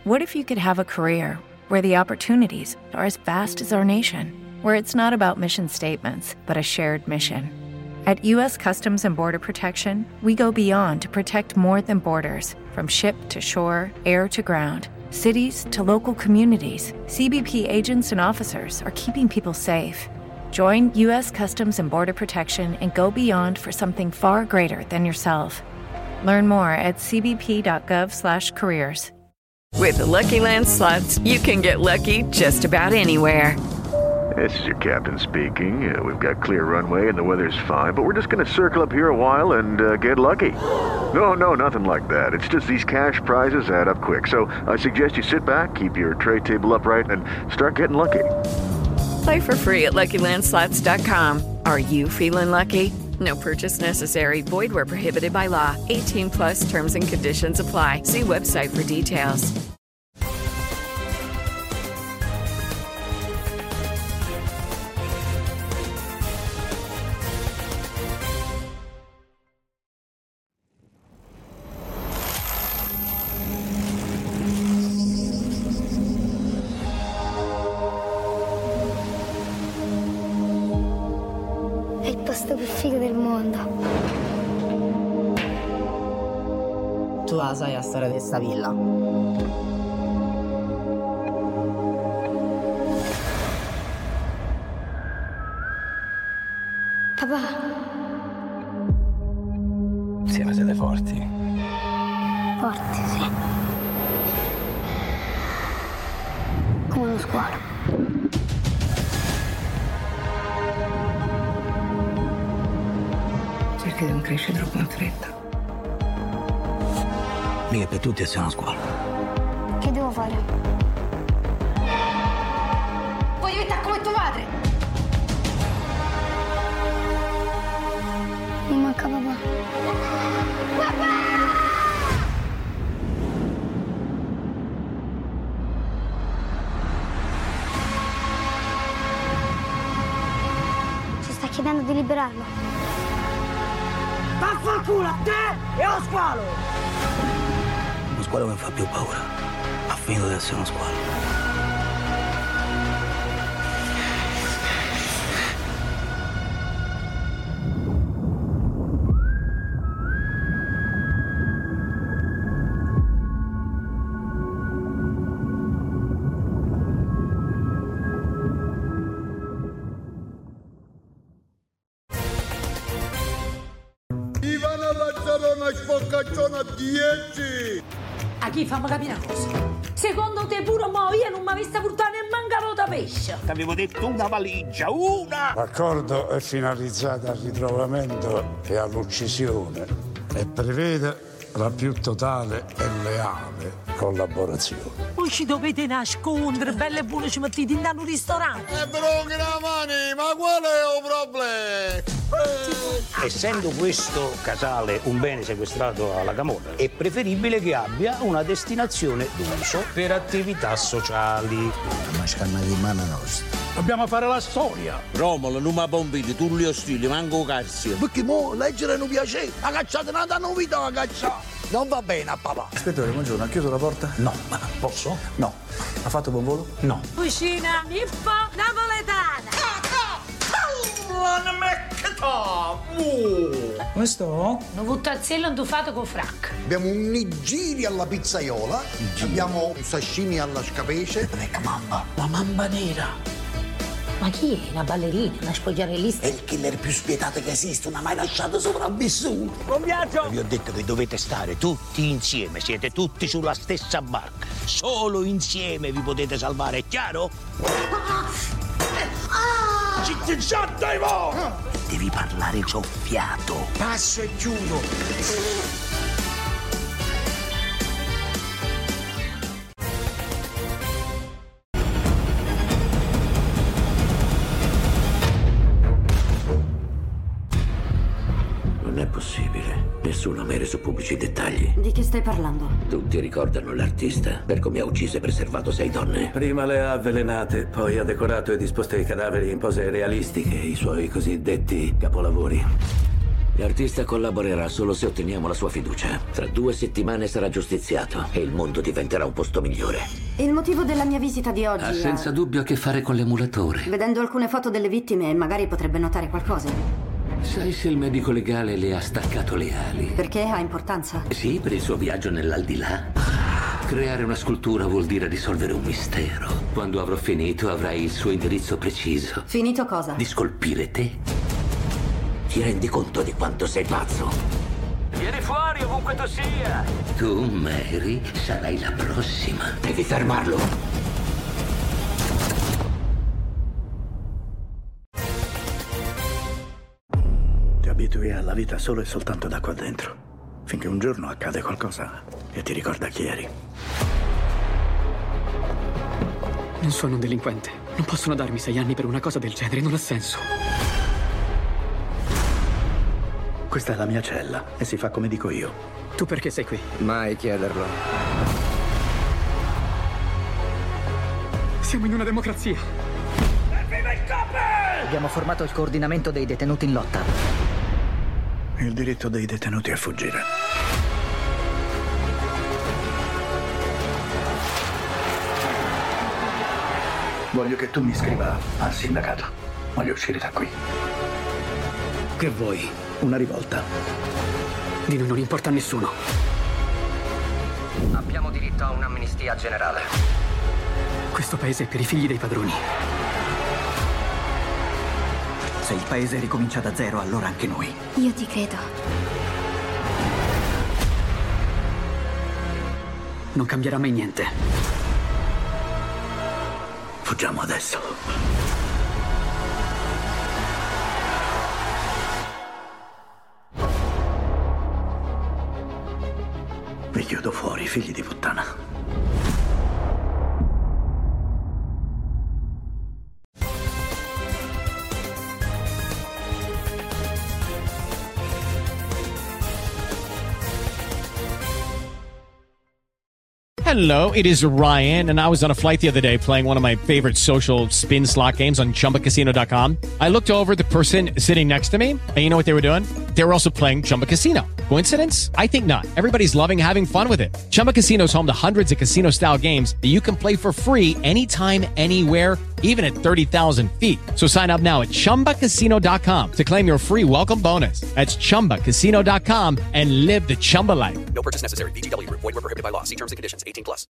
What if you could have a career where the opportunities are as vast as our nation, where it's not about mission statements, but a shared mission? At U.S. Customs and Border Protection, we go beyond to protect more than borders. From ship to shore, air to ground, cities to local communities, CBP agents and officers are keeping people safe. Join U.S. Customs and Border Protection and go beyond for something far greater than yourself. Learn more at cbp.gov/careers. With the Lucky Land Slots, you can get lucky just about anywhere. This is your captain speaking. We've got clear runway and the weather's fine, but we're just going to circle up here a while and get lucky. No, nothing like that. It's just these cash prizes add up quick. So I suggest you sit back, keep your tray table upright, and start getting lucky. Play for free at LuckyLandSlots.com. Are you feeling lucky? No purchase necessary. Void where prohibited by law. 18+ terms and conditions apply. See website for details. È il posto più figo del mondo. Tu la sai la storia di sta villa? Papà, Insieme siete forti. forte, sì. Come uno squalo. Cerca di non crescere troppo in fretta. Mica per tutti siamo a scuola. Che devo fare? Voglio diventare come tuo padre! Mi manca papà. Papà! Ci sta chiedendo di liberarlo. Vaffanculo a te e allo squalo! Uno squalo mi fa più paura. Ha finito di essere uno squalo. Ivana Lazzarona Spoccacciona 10! A chi fammi capire una cosa? Secondo te pure mo io non mi avessi portato nemmeno un da pesce? Ti avevo detto una valigia, una! L'accordo è finalizzato al ritrovamento e all'uccisione e prevede la più totale e leale collaborazione. Voi ci dovete nascondere, belle e buone ci mettete in un ristorante. Però che la mani, ma qual è il problema? Essendo questo casale un bene sequestrato alla camorra, è preferibile che abbia una destinazione d'uso per attività sociali. Ma scanna di mano nostra. Dobbiamo fare la storia. Romolo, non mi bombini, tu li ostili, manco Carzio. Perché mo leggere non piace. La cacciata non danno vita a cacciare. Non va bene a papà. Ispettore, buongiorno, ha chiuso la porta? No, ma posso? No. Ha fatto buon volo? No. Cucina Mippo napoletana. Come sto? Un vuttazzello intufato con frac. Abbiamo un nigiri alla pizzaiola, abbiamo un sashimi alla scapece. Ecco mamba. La mamba nera. Ma chi è? Una ballerina? Una spogliarellista? È il killer più spietato che esiste, non ha mai lasciato sopravvissuto. Buon viaggio! Vi ho detto che dovete stare tutti insieme, siete tutti sulla stessa barca. Solo insieme vi potete salvare, è chiaro? Devi parlare soffiato. Passo e chiudo. Non è possibile. Nessuno ha mai reso pubblici i dettagli. Di che stai parlando? Tutti ricordano l'artista per come ha ucciso e preservato 6 donne. Prima le ha avvelenate, poi ha decorato e disposto i cadaveri in pose realistiche, i suoi cosiddetti capolavori. L'artista collaborerà solo se otteniamo la sua fiducia. Tra 2 settimane sarà giustiziato e il mondo diventerà un posto migliore. Il motivo della mia visita di oggi Ha senza dubbio a che fare con l'emulatore. Vedendo alcune foto delle vittime, magari potrebbe notare qualcosa. Sai se il medico legale le ha staccato le ali? Perché ha importanza? Sì, per il suo viaggio nell'aldilà. Creare una scultura vuol dire risolvere un mistero. Quando avrò finito avrai il suo indirizzo preciso. Finito cosa? Di scolpire te. Ti rendi conto di quanto sei pazzo? Vieni fuori ovunque tu sia! Tu, Mary, sarai la prossima. Devi fermarlo. Ti abitui alla vita solo e soltanto da qua dentro. Finché un giorno accade qualcosa che ti ricorda chi eri. Non sono un delinquente. Non possono darmi 6 anni per una cosa del genere, non ha senso. Questa è la mia cella e si fa come dico io. Tu perché sei qui? Mai chiederlo. Siamo in una democrazia. Viva il COPE! Abbiamo formato il coordinamento dei detenuti in lotta. Il diritto dei detenuti a fuggire. Voglio che tu mi iscriva al sindacato. Voglio uscire da qui. Che vuoi? Una rivolta. Di noi non importa a nessuno. Abbiamo diritto a un'amnistia generale. Questo paese è per i figli dei padroni. Se il paese ricomincia da zero, allora anche noi. Io ti credo. Non cambierà mai niente. Fuggiamo adesso. Vi chiudo fuori, figli di puttana. Hello, it is Ryan, and I was on a flight the other day playing one of my favorite social spin slot games on ChumbaCasino.com. I looked over at the person sitting next to me, and you know what they were doing? They were also playing Chumba Casino. Coincidence? I think not. Everybody's loving having fun with it. Chumba Casino is home to hundreds of casino-style games that you can play for free anytime, anywhere, even at 30,000 feet. So sign up now at ChumbaCasino.com to claim your free welcome bonus. That's ChumbaCasino.com and live the Chumba life. No purchase necessary. VGW. Void where prohibited by law. See terms and conditions. 18+.